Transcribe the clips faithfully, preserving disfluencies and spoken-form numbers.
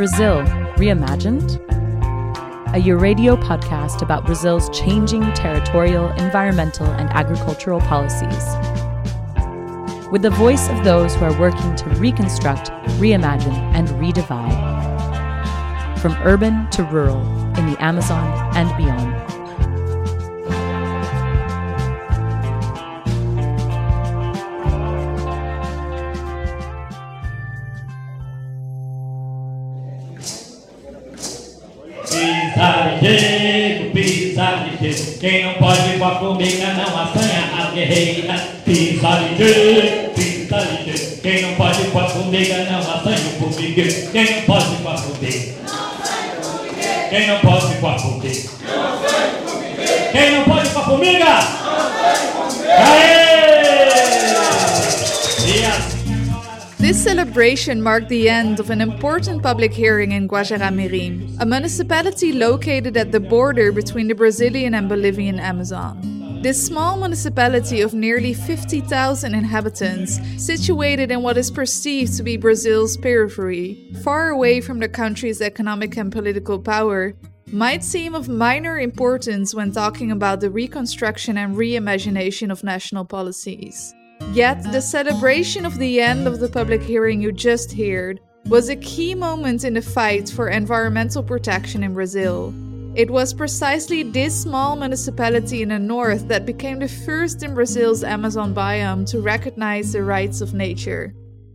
Brazil, Reimagined? A Euradio podcast about Brazil's changing territorial, environmental, and agricultural policies. With the voice of those who are working to reconstruct, reimagine, and redivide. From urban to rural, in the Amazon and beyond. Pisadeiro, pisadeiro, quem não pode com a formiga não assanha as guerreiras. Pisadeiro, pisadeiro, quem não pode com a formiga não assanha o formigueiro. Quem não pode com a formiga? Quem não pode com a formiga? Quem não pode com a formiga? Aê! E assim. This celebration marked the end of an important public hearing in Guajará-Mirim, a municipality located at the border between the Brazilian and Bolivian Amazon. This small municipality of nearly fifty thousand inhabitants, situated in what is perceived to be Brazil's periphery, far away from the country's economic and political power, might seem of minor importance when talking about the reconstruction and reimagination of national policies. Yet, the celebration of the end of the public hearing you just heard was a key moment in the fight for environmental protection in Brazil. It was precisely this small municipality in the north that became the first in Brazil's Amazon biome to recognize the rights of nature.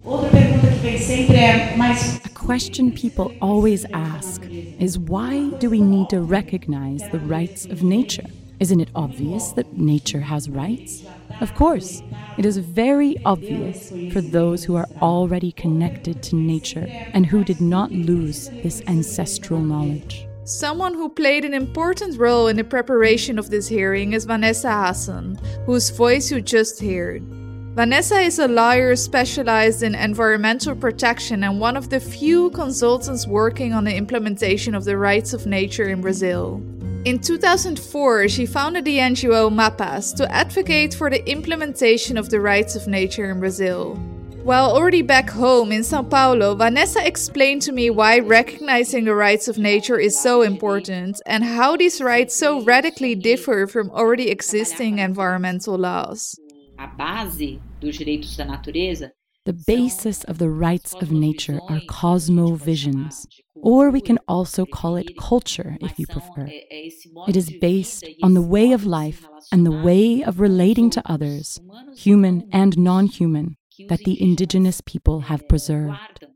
A question people always ask is, why do we need to recognize the rights of nature? Isn't it obvious that nature has rights? Of course, it is very obvious for those who are already connected to nature and who did not lose this ancestral knowledge. Someone who played an important role in the preparation of this hearing is Vanessa Hassan, whose voice you just heard. Vanessa is a lawyer specialized in environmental protection and one of the few consultants working on the implementation of the rights of nature in Brazil. In two thousand four, she founded the N G O MAPAS to advocate for the implementation of the rights of nature in Brazil. While already back home in São Paulo, Vanessa explained to me why recognizing the rights of nature is so important and how these rights so radically differ from already existing environmental laws. A base dos direitos da natureza. The basis of the rights of nature are cosmovisions, or we can also call it culture if you prefer. It is based on the way of life and the way of relating to others, human and non-human, that the indigenous people have preserved.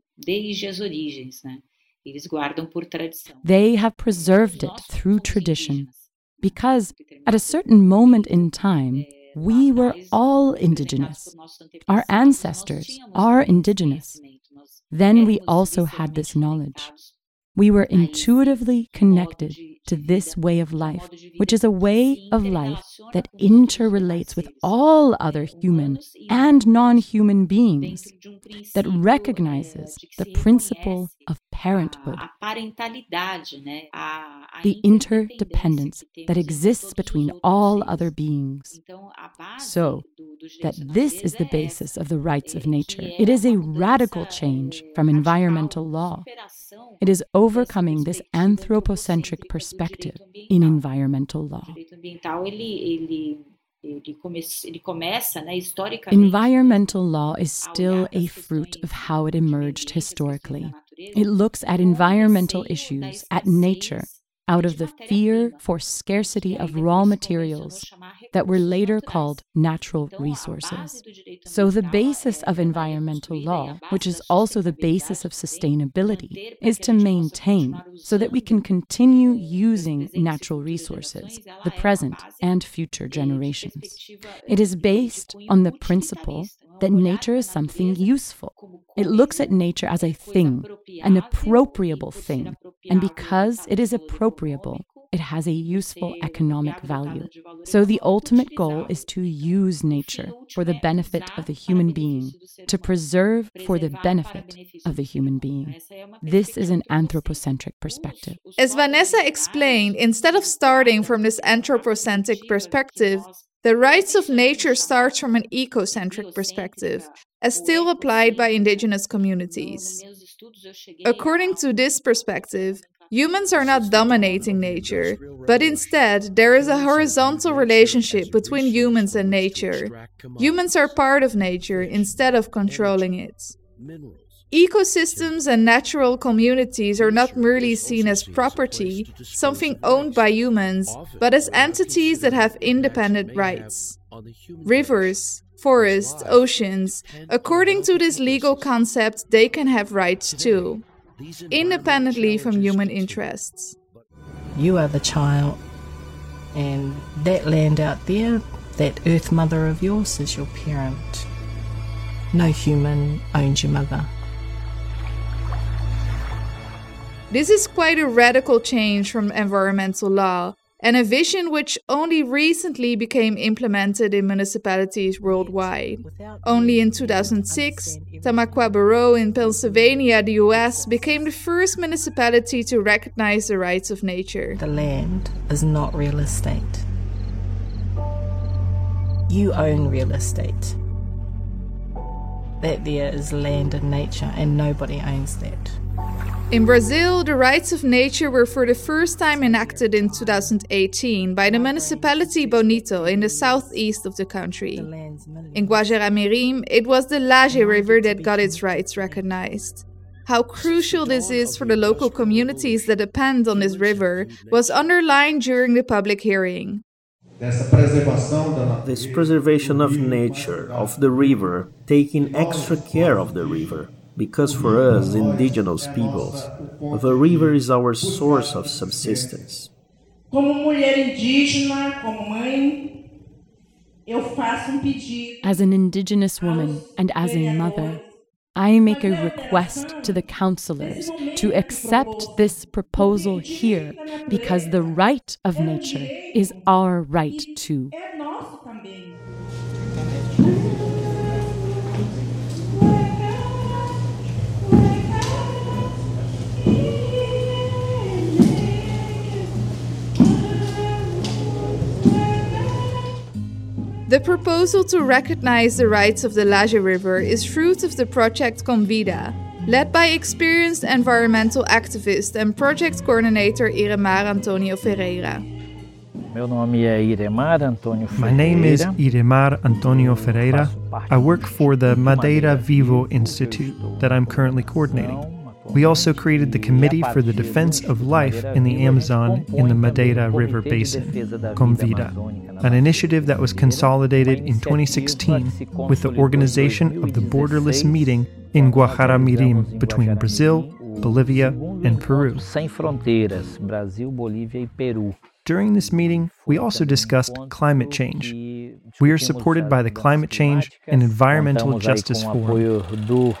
They have preserved it through tradition, because at a certain moment in time, we were all indigenous. Our ancestors are indigenous. Then we also had this knowledge. We were intuitively connected to this way of life, which is a way of life that interrelates with all other human and non-human beings, that recognizes the principle of parenthood, the interdependence that exists between all other beings. So, that this is the basis of the rights of nature. It is a radical change from environmental law. It is overcoming this anthropocentric perspective in environmental law. Environmental law is still a fruit of how it emerged historically. It looks at environmental issues, at nature, out of the fear for scarcity of raw materials that were later called natural resources. So the basis of environmental law, which is also the basis of sustainability, is to maintain so that we can continue using natural resources, the present and future generations. It is based on the principle that nature is something useful. It looks at nature as a thing, an appropriable thing, and because it is appropriable, it has a useful economic value. So the ultimate goal is to use nature for the benefit of the human being, to preserve for the benefit of the human being. This is an anthropocentric perspective. As Vanessa explained, instead of starting from this anthropocentric perspective, the rights of nature starts from an ecocentric perspective, as still applied by indigenous communities. According to this perspective, humans are not dominating nature, but instead there is a horizontal relationship between humans and nature. Humans are part of nature instead of controlling it. Ecosystems and natural communities are not merely seen as property, something owned by humans, but as entities that have independent rights. Rivers, forests, oceans, according to this legal concept, they can have rights too, independently from human interests. You are the child, and that land out there, that earth mother of yours, is your parent. No human owns your mother. This is quite a radical change from environmental law, and a vision which only recently became implemented in municipalities worldwide. Only in two thousand six, Tamaqua Borough in Pennsylvania, the U S, became the first municipality to recognize the rights of nature. The land is not real estate. You own real estate. That there is land and nature, and nobody owns that. In Brazil, the rights of nature were for the first time enacted in two thousand eighteen by the municipality Bonito in the southeast of the country. In Guajará-Mirim, it was the Laje River that got its rights recognized. How crucial this is for the local communities that depend on this river was underlined during the public hearing. This preservation of nature, of the river, taking extra care of the river. Because for us, indigenous peoples, the river is our source of subsistence. As an indigenous woman and as a mother, I make a request to the councillors to accept this proposal here because the right of nature is our right too. The proposal to recognize the rights of the Laje River is fruit of the project Convida, led by experienced environmental activist and project coordinator Iremar Antonio Ferreira. My name is Iremar Antonio Ferreira. I work for the Madeira Vivo Institute that I'm currently coordinating. We also created the Committee for the Defense of Life in the Amazon in the Madeira River Basin, Convida, an initiative that was consolidated in twenty sixteen with the organization of the borderless meeting in Guajará-Mirim between Brazil, Bolivia, and Peru. During this meeting, we also discussed climate change. We are supported by the Climate Change and Environmental Justice Forum.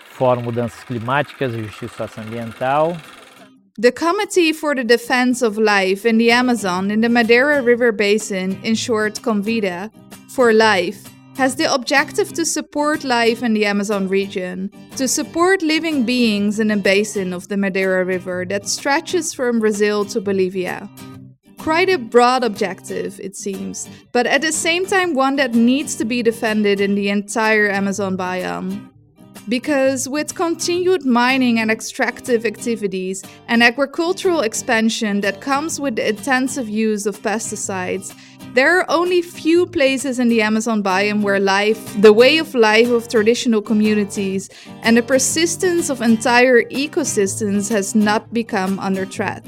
The Committee for the Defense of Life in the Amazon in the Madeira River Basin, in short Convida, for Life, has the objective to support life in the Amazon region, to support living beings in a basin of the Madeira River that stretches from Brazil to Bolivia. Quite a broad objective, it seems, but at the same time one that needs to be defended in the entire Amazon biome. Because with continued mining and extractive activities and agricultural expansion that comes with the intensive use of pesticides, there are only few places in the Amazon biome where life, the way of life of traditional communities, and the persistence of entire ecosystems has not become under threat.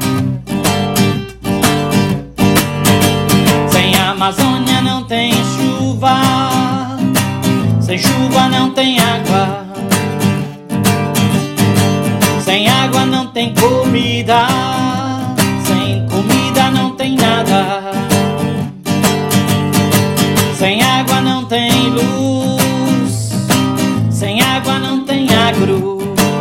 Sem Amazônia não tem chuva. Sem chuva não tem água, sem água não tem comida, sem comida não tem nada, sem água não tem luz, sem água não tem agro,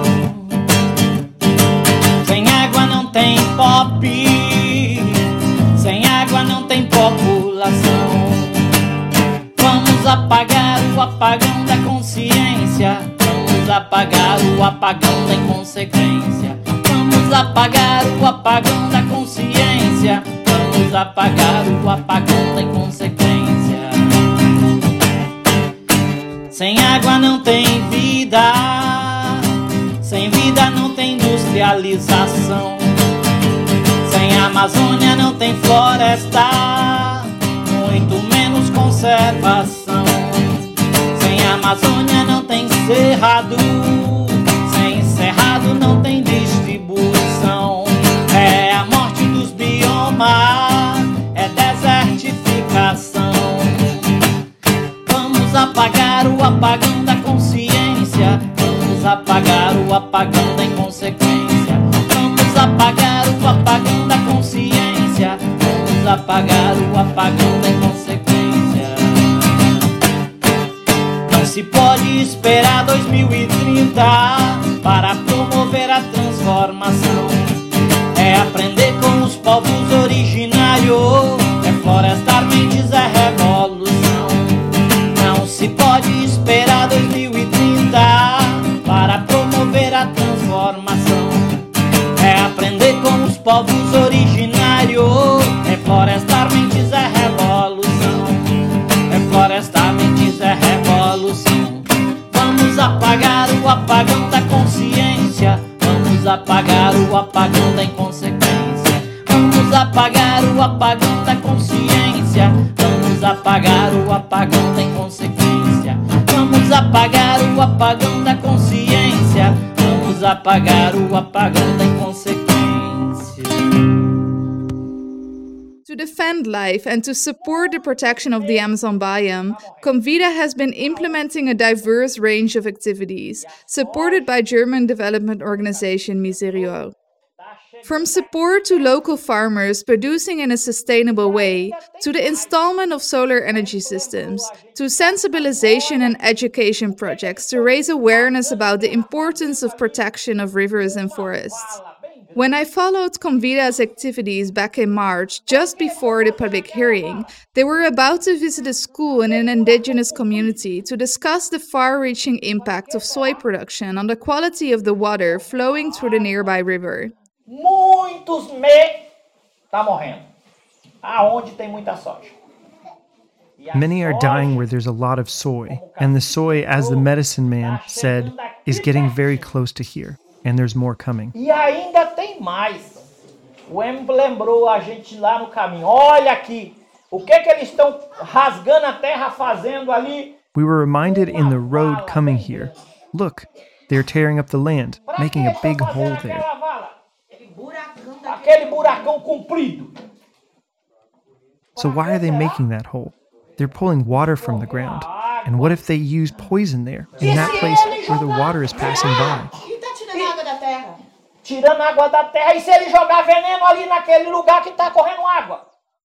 sem água não tem pop, sem água não tem população. Vamos apagar o apagão da consciência. Vamos apagar o apagão da inconsequência. Vamos apagar o apagão da consciência. Vamos apagar o apagão da inconsequência. Sem água não tem vida. Sem vida não tem industrialização. Sem Amazônia não tem floresta, muito menos conservação. Sem Amazônia não tem cerrado, sem cerrado não tem distribuição. É a morte dos biomas, é desertificação. Vamos apagar o apagão da consciência, vamos apagar o apagão da inconsequência. Vamos apagar o apagão da consciência, vamos apagar o apagão da inconsequência. Não se pode esperar dois mil e trinta para promover a transformação. É aprender com os povos originários, é florestar mentes, é revolução. Não se pode esperar dois mil e trinta para promover a transformação. É aprender com os povos originários, é florestar mentes, é revolução. É florestar mentes, é revolução. Vamos apagar o apagão da consciência, vamos apagar o apagão da inconsequência. Vamos apagar o apagão da consciência, vamos apagar o apagão da inconsequência. Vamos apagar o apagão da consciência, vamos apagar o apagão da inconsequência. To defend life and to support the protection of the Amazon biome, Comvida has been implementing a diverse range of activities, supported by German development organization Miserior. From support to local farmers producing in a sustainable way, to the installment of solar energy systems, to sensibilization and education projects to raise awareness about the importance of protection of rivers and forests. When I followed Comvida's activities back in March, just before the public hearing, they were about to visit a school in an indigenous community to discuss the far-reaching impact of soy production on the quality of the water flowing through the nearby river. Muitos me tá morrendo. Aonde tem muita soja. Many are dying where there's a lot of soy, and the soy, as the medicine man said, is getting very close to here, and there's more coming. E ainda tem mais. O Em lembrou a gente lá no caminho. Olha aqui, o que que eles estão rasgando a terra fazendo ali? We were reminded in the road coming here. Look, they're tearing up the land, making a big hole there. Aquele buracão comprido. So why are they making that hole? They're pulling water from the ground. And what if they use poison there, in that place where the water is passing by? Tirando água da terra, e se ele jogar veneno ali naquele lugar que está correndo água?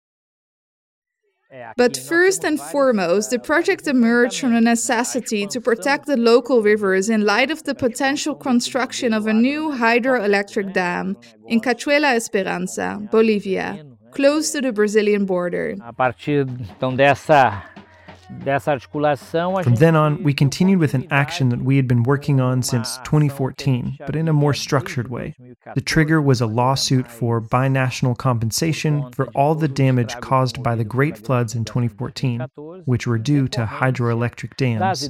But first and foremost, the project emerged from the necessity to protect the local rivers in light of the potential construction of a new hydroelectric dam in Cachoeira Esperança, Bolivia, close to the Brazilian border. A partir então dessa dessa articulação, From then on, we continued with an action that we had been working on since twenty fourteen, but in a more structured way. The trigger was a lawsuit for binational compensation for all the damage caused by the great floods in twenty fourteen, which were due to hydroelectric dams.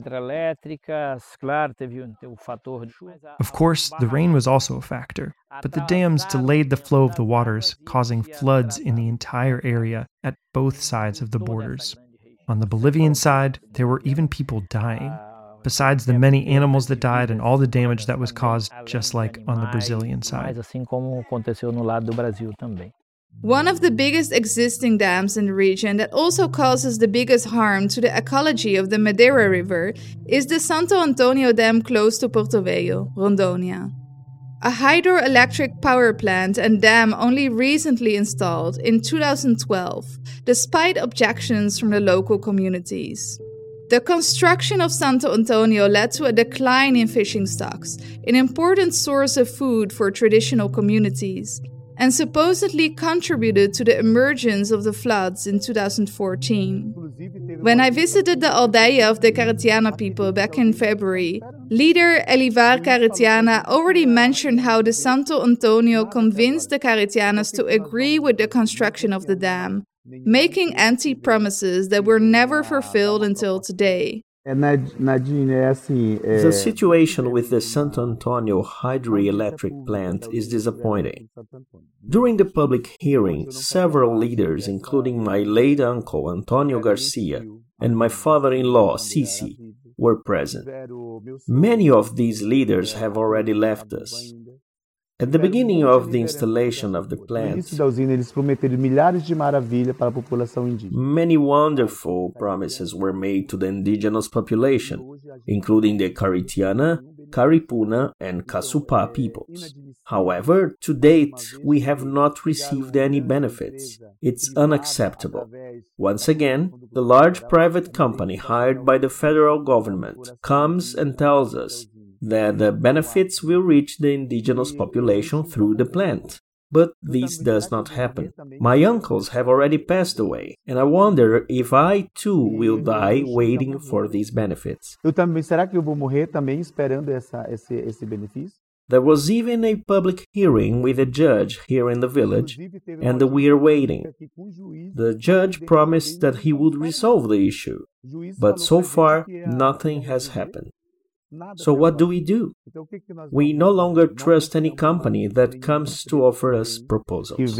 Of course, the rain was also a factor, but the dams delayed the flow of the waters, causing floods in the entire area at both sides of the borders. On the Bolivian side, there were even people dying, besides the many animals that died and all the damage that was caused, just like on the Brazilian side. One of the biggest existing dams in the region that also causes the biggest harm to the ecology of the Madeira River is the Santo Antonio Dam close to Porto Velho, Rondônia. A hydroelectric power plant and dam only recently installed in two thousand twelve, despite objections from the local communities. The construction of Santo Antonio led to a decline in fishing stocks, an important source of food for traditional communities, and supposedly contributed to the emergence of the floods in two thousand fourteen. When I visited the aldeia of the Caritiana people back in February, leader Elivar Caritiana already mentioned how the Santo Antonio convinced the Caritianas to agree with the construction of the dam, making empty promises that were never fulfilled until today. The situation with the Santo Antonio hydroelectric plant is disappointing. During the public hearing, several leaders, including my late uncle Antonio Garcia and my father-in-law Sisi, were present. Many of these leaders have already left us. At the beginning of the installation of the plant, many wonderful promises were made to the indigenous population, including the Caritiana, Caripuna, and Kasupá peoples. However, to date, we have not received any benefits. It's unacceptable. Once again, the large private company hired by the federal government comes and tells us that the benefits will reach the indigenous population through the plant. But this does not happen. My uncles have already passed away, and I wonder if I too will die waiting for these benefits. There was even a public hearing with a judge here in the village, and we are waiting. The judge promised that he would resolve the issue, but so far nothing has happened. So what do we do? We no longer trust any company that comes to offer us proposals.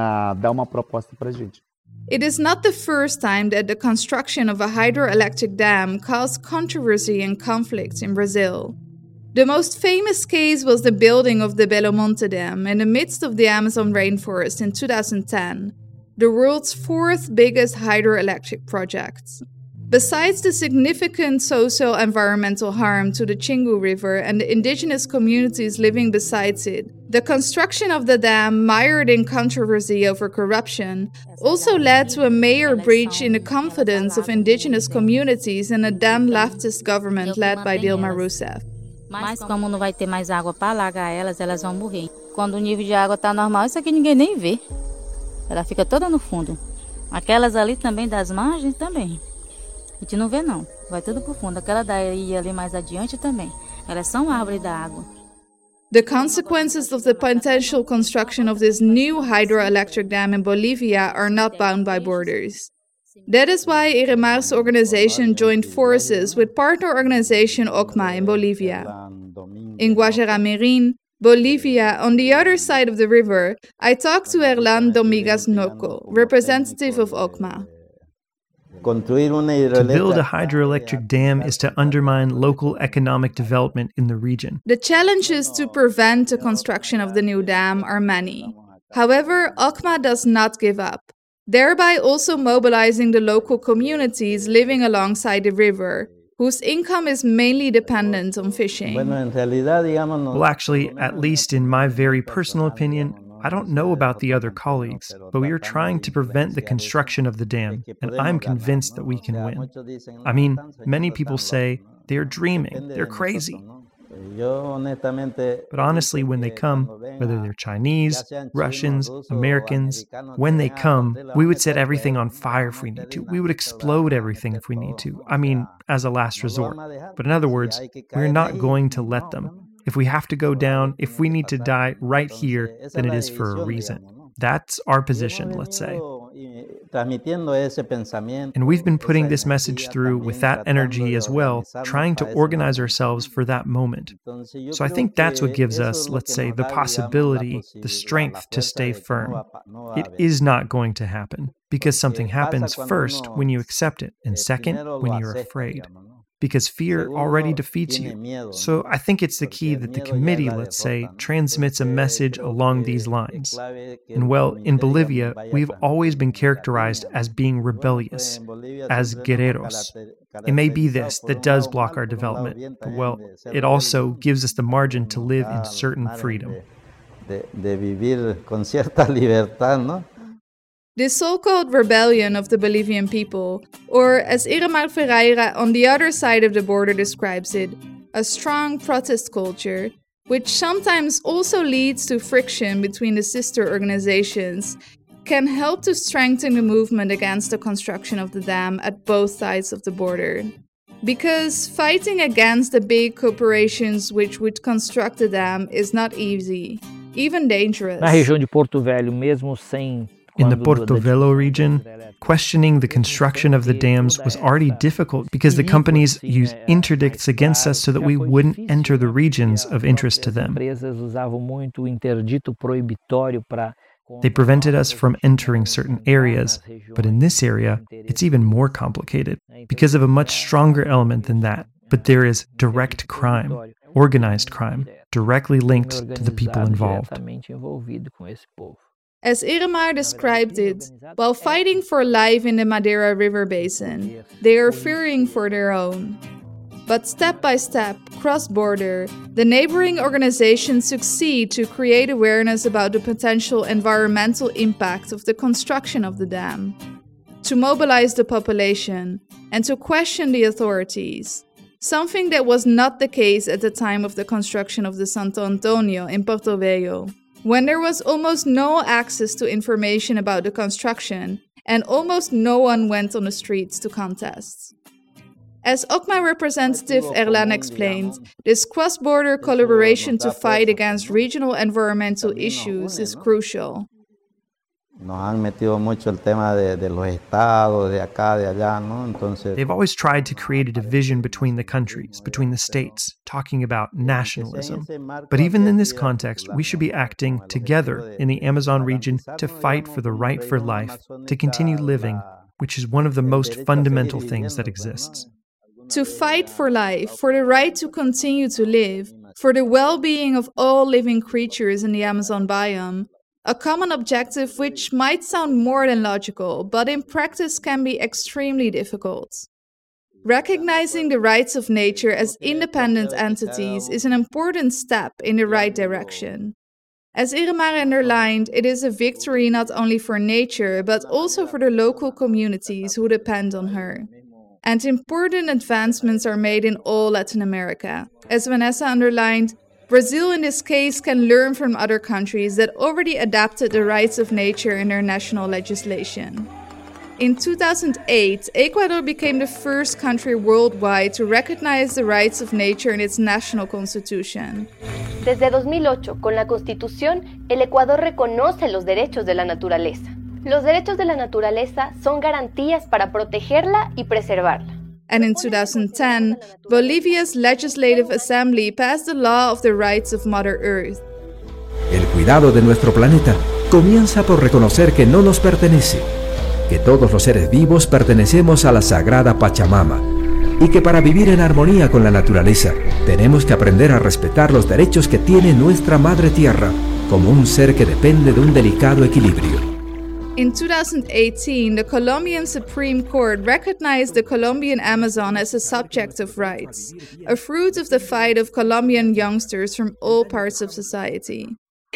It is not the first time that the construction of a hydroelectric dam caused controversy and conflict in Brazil. The most famous case was the building of the Belo Monte Dam in the midst of the Amazon rainforest in two thousand ten, the world's fourth biggest hydroelectric project. Besides the significant socio-environmental harm to the Xingu River and the indigenous communities living beside it, the construction of the dam, mired in controversy over corruption, also led to a major breach in the confidence of indigenous communities in a then leftist government led by Dilma Rousseff. Mas como não vai ter mais água para alagar elas, elas vão morrer. Quando o nível de água está normal, isso aqui ninguém nem vê. Ela fica toda no fundo. Aquelas ali também das margens também. A gente não vê não, vai tudo pro fundo. Aquela daí ali mais adiante também. Elas são árvores da água. The consequences of the potential construction of this new hydroelectric dam in Bolivia are not bound by borders. That is why Iremar's organization joined forces with partner organization O C M A in Bolivia. In Guajará-Mirim, Bolivia, on the other side of the river, I talked to Erlan Domingas Noco, representative of O C M A. To build a hydroelectric dam is to undermine local economic development in the region. The challenges to prevent the construction of the new dam are many. However, O C M A does not give up, thereby also mobilizing the local communities living alongside the river, whose income is mainly dependent on fishing. Well, actually, at least in my very personal opinion, I don't know about the other colleagues, but we are trying to prevent the construction of the dam, and I'm convinced that we can win. I mean, many people say they're dreaming, they're crazy. But honestly, when they come, whether they're Chinese, Russians, Americans, when they come, we would set everything on fire if we need to. We would explode everything if we need to. I mean, as a last resort. But in other words, we're not going to let them. If we have to go down, if we need to die right here, then it is for a reason. That's our position, let's say. And we've been putting this message through with that energy as well, trying to organize ourselves for that moment. So I think that's what gives us, let's say, the possibility, the strength to stay firm. It is not going to happen, because something happens first when you accept it, and second, when you're afraid. Because fear already defeats you. So I think it's the key that the committee, let's say, transmits a message along these lines. And well, in Bolivia, we've always been characterized as being rebellious, as guerreros. It may be this that does block our development, but well, it also gives us the margin to live in certain freedom. This so-called rebellion of the Bolivian people, or as Iremar Ferreira on the other side of the border describes it, a strong protest culture, which sometimes also leads to friction between the sister organizations, can help to strengthen the movement against the construction of the dam at both sides of the border. Because fighting against the big corporations which would construct the dam is not easy, even dangerous. Na região de Porto Velho, mesmo sem In the Porto Velho region, Questioning the construction of the dams was already difficult because the companies used interdicts against us so that we wouldn't enter the regions of interest to them. They prevented us from entering certain areas, but in this area, it's even more complicated because of a much stronger element than that. But there is direct crime, organized crime, directly linked to the people involved. As Iremar described it, while fighting for life in the Madeira River Basin, they are fearing for their own. But step by step, cross-border, the neighboring organizations succeed to create awareness about the potential environmental impact of the construction of the dam, to mobilize the population, and to question the authorities, something that was not the case at the time of the construction of the Santo Antonio in Porto Velho, when there was almost no access to information about the construction and almost no one went on the streets to contest. As O C M A representative Erlan explained, this cross-border collaboration to fight against regional environmental issues is crucial. They've always tried to create a division between the countries, between the states, talking about nationalism. But even in this context, we should be acting together in the Amazon region to fight for the right for life, to continue living, which is one of the most fundamental things that exists. To fight for life, for the right to continue to live, for the well-being of all living creatures in the Amazon biome, a common objective which might sound more than logical, but in practice can be extremely difficult. Recognizing the rights of nature as independent entities is an important step in the right direction. As Iremar underlined, it is a victory not only for nature, but also for the local communities who depend on her. And important advancements are made in all Latin America. As Vanessa underlined, Brazil in this case can learn from other countries that already adapted the rights of nature in their national legislation. In two thousand eight, Ecuador became the first country worldwide to recognize the rights of nature in its national constitution. Desde dos mil ocho, con la Constitución, el Ecuador reconoce los derechos de la naturaleza. Los derechos de la naturaleza son garantías para protegerla y preservarla. And in two thousand ten, Bolivia's Legislative Assembly passed the law of the rights of Mother Earth. El cuidado de nuestro planeta comienza por reconocer que no nos pertenece, que todos los seres vivos pertenecemos a la sagrada Pachamama y que para vivir en armonía con la naturaleza tenemos que aprender a respetar los derechos que tiene nuestra Madre Tierra como un ser que depende de un delicado equilibrio. In two thousand eighteen, the Colombian Supreme Court recognized the Colombian Amazon as a subject of rights, a fruit of the fight of Colombian youngsters from all parts of society.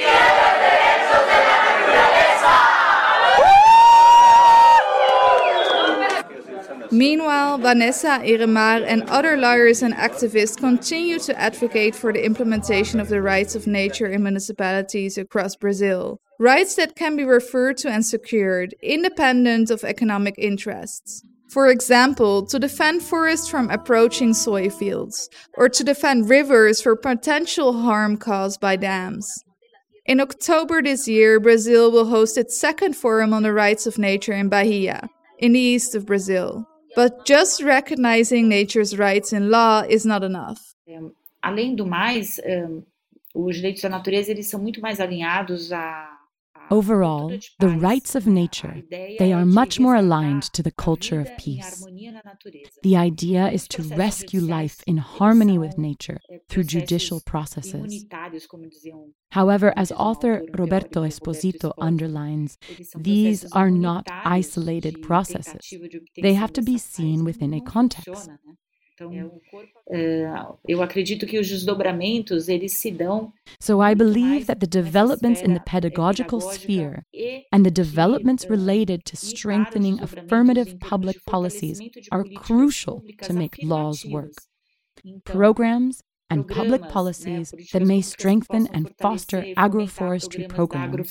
Meanwhile, Vanessa, Iremar, and other lawyers and activists continue to advocate for the implementation of the rights of nature in municipalities across Brazil. Rights that can be referred to and secured, independent of economic interests. For example, to defend forests from approaching soy fields, or to defend rivers for potential harm caused by dams. In October this year, Brazil will host its second Forum on the Rights of Nature in Bahia, in the east of Brazil. But just recognizing nature's rights in law is not enough. Um, além do mais, um, os direitos da natureza eles são muito mais alinhados a Overall, the rights of nature, they are much more aligned to the culture of peace. The idea is to rescue life in harmony with nature through judicial processes. However, as author Roberto Esposito underlines, these are not isolated processes. They have to be seen within a context. Eu acredito que os desdobramentos eles se dão. So I believe that the developments in the pedagogical sphere and the developments related to strengthening affirmative public policies are crucial to make laws work. Programs and public policies that may strengthen and foster agroforestry programs,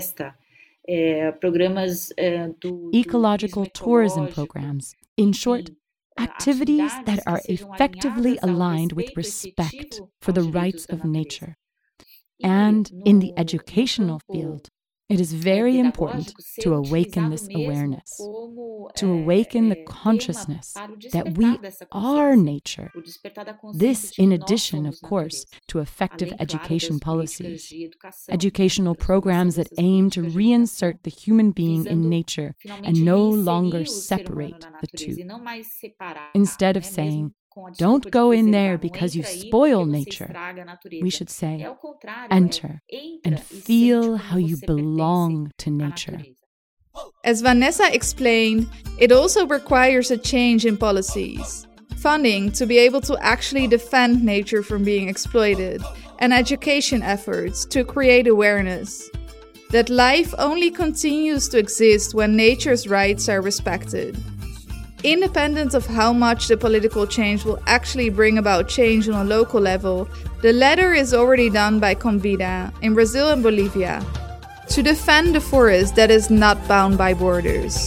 ecological tourism programs, in short, activities that are effectively aligned with respect for the rights of nature. And in the educational field, It is very important to awaken this awareness, to awaken the consciousness that we are nature. This, in addition, of course, to effective education policies, educational programs that aim to reinsert the human being in nature and no longer separate the two. Instead of saying, "Don't go in there because you spoil nature," we should say, "Enter and feel how you belong to nature." As Vanessa explained, it also requires a change in policies. Funding to be able to actually defend nature from being exploited, and education efforts to create awareness that life only continues to exist when nature's rights are respected. Independent of how much the political change will actually bring about change on a local level, the latter is already done by Convida in Brazil and Bolivia to defend the forest that is not bound by borders.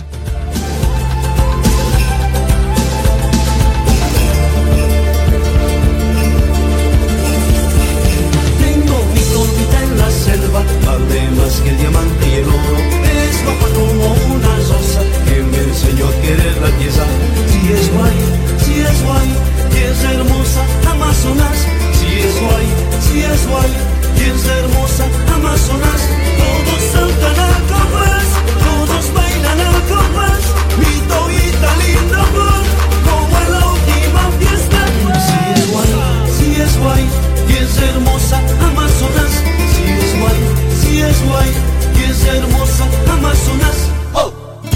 Tengo mi Convida en la selva, vale más que el diamante y el oro, es guapa como una rosa que me enseñó a querer la tierra. Si es guay, si es guay, y es hermosa Amazonas. Si es guay, si es guay, y es hermosa Amazonas. Todos saltan al compás, todos bailan al compás. Mi toita linda flor, como en la última fiesta. Si es guay, si es guay, y es hermosa Amazonas. Si es guay, si es guay, y es hermosa Amazonas. Oh.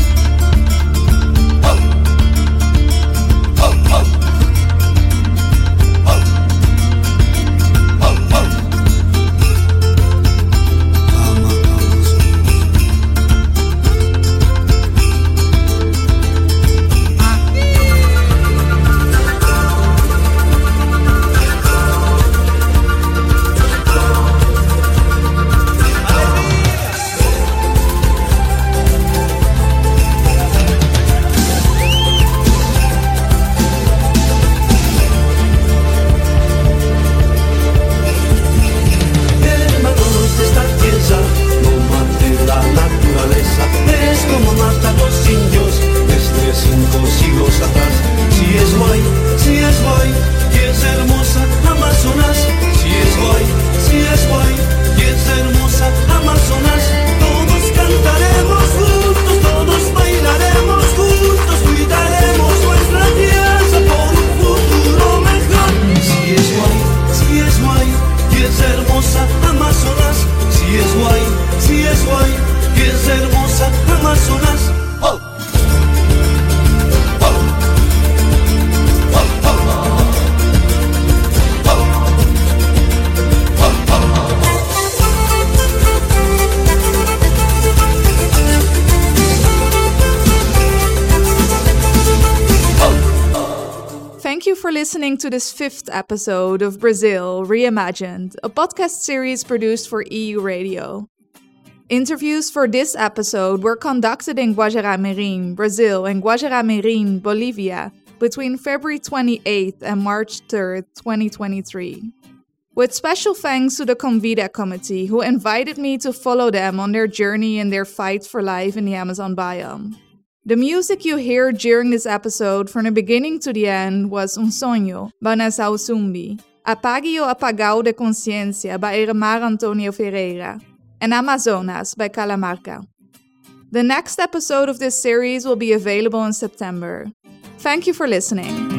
Listening to this fifth episode of Brazil Reimagined, a podcast series produced for E U Radio. Interviews for this episode were conducted in Guajará-Mirim, Brazil, and Guajará-Mirim, Bolivia, between February twenty-eighth and March third, twenty twenty-three. With special thanks to the Convida Committee, who invited me to follow them on their journey in their fight for life in the Amazon biome. The music you hear during this episode from the beginning to the end was Un Sonho, by Nassau Zumbi, Apague o Apagao de Consciência, by Iremar Antonio Ferreira, and Amazonas, by Calamarca. The next episode of this series will be available in September. Thank you for listening.